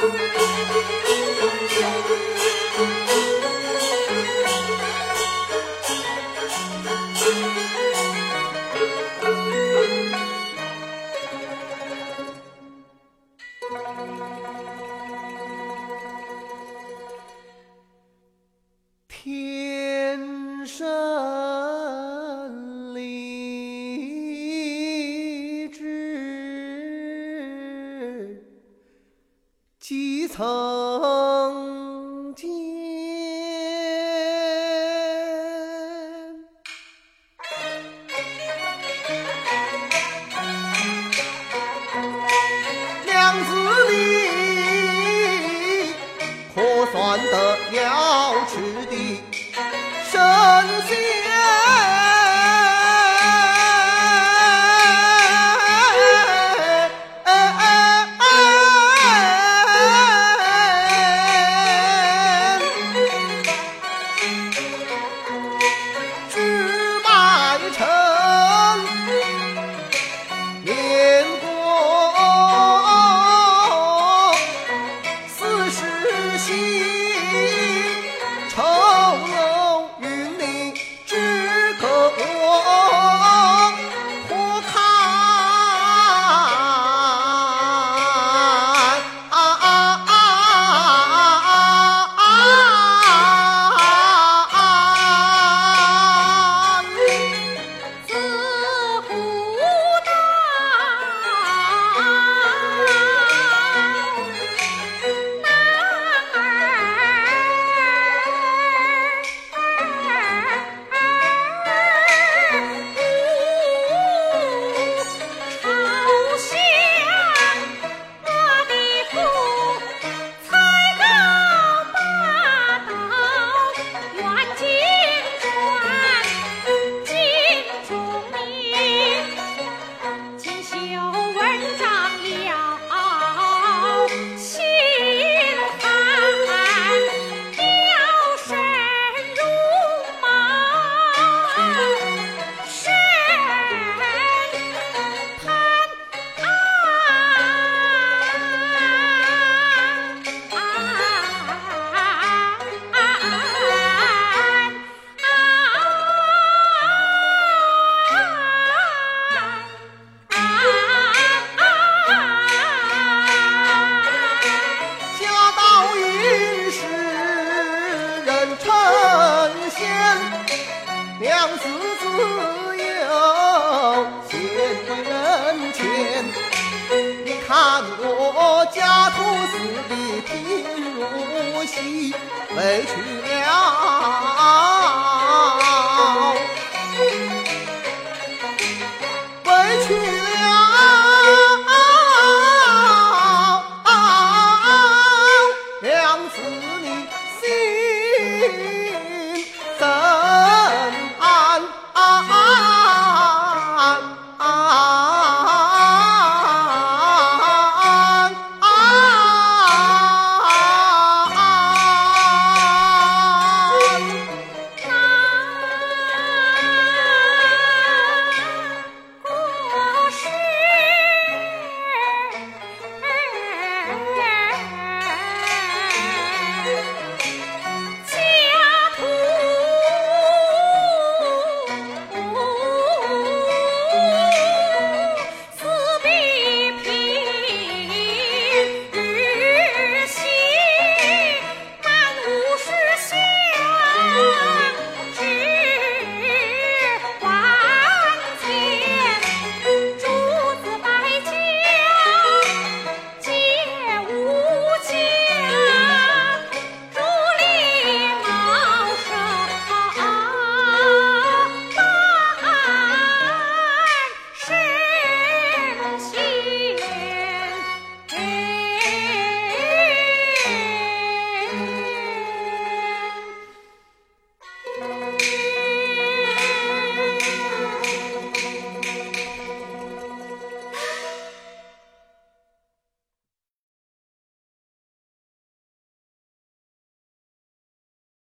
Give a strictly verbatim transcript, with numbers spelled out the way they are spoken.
天生丽质几曾见，娘子你可算得了吃的神仙，只卖臣年过四十夕，丑陋云里只可我或看啊啊啊自古道男儿朝向我的父才高八斗，远近传尽中名，锦绣文章了心寒，雕身如毛神探啊侠盗淫世人称仙，娘子自有贤贵人前。你看我家徒四壁贫如洗，委屈了